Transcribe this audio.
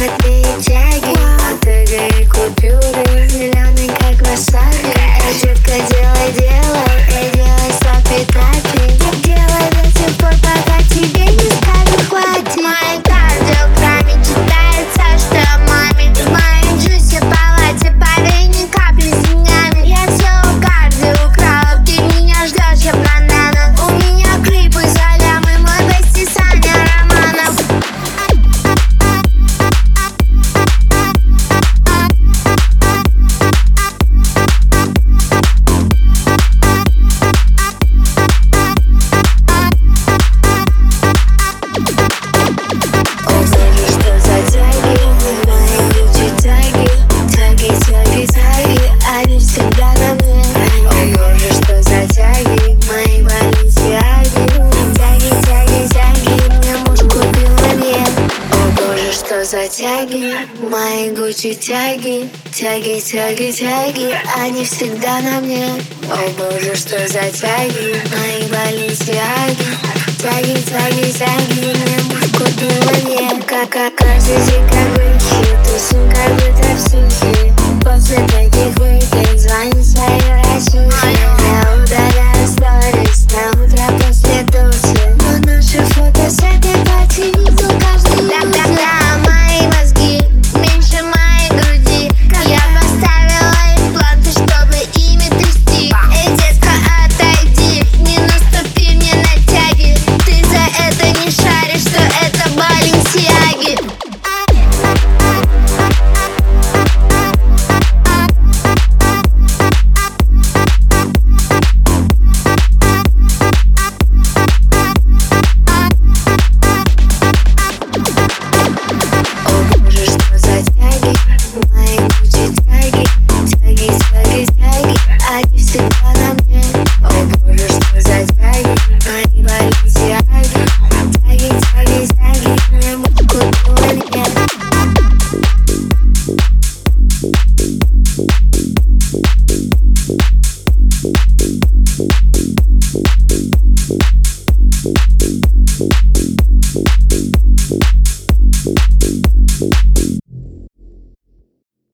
отклеить тяги, мотыга и купюры, зеленый как васаби. Детка, делай дело и делай слапи-тапи. Делай до тех пор, пока тебе не скажут хватит. В моей кардиограмме читается, что маме в моей джусе палате парень ни капли с деньгами. Я все у карди украла, ты меня ждешь, я банана. У меня клипы за лямы, мой бести Саня Романов. Они всегда на мне. О боже, что за тяги, мои баленсиаги. Тяги, мне муж купил мне. О боже, что за тяги, мои Гуччи тяги. Тяги, они всегда на мне. О боже, что за тяги, мои баленсиаги. Тяги, мне муж купил мне. Как каждый день, как Гуччи, тусим, как будто в сухе. После таких выпить звонит своей России. Я удаляю сторис на утро после душа, но наши фото с этой пати видел каждый день. Да, мои мозги меньше моей груди. Я поставила импланты, чтобы ими трясти. Эй, детка, отойди, не наступи мне на тяги. Ты за это не шаришь, что это баленсиаги. Они всегда на мне. О боже, что за тяги, мои баленсиаги. Тяги, мне муж купил мне. We'll be right back.